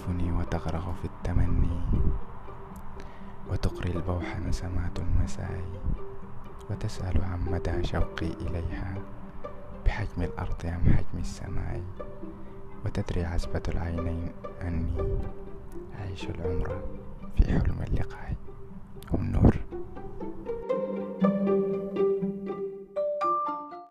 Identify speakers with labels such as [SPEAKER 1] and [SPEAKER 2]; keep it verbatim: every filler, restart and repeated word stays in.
[SPEAKER 1] تهفني وتغرق في التمني، وتقري البوح نسمات المساء، وتسأل عن مدى شوقي إليها بحجم الأرض أم حجم السماء، وتدري عزبة العينين أني أعيش العمر في حلم اللقاء.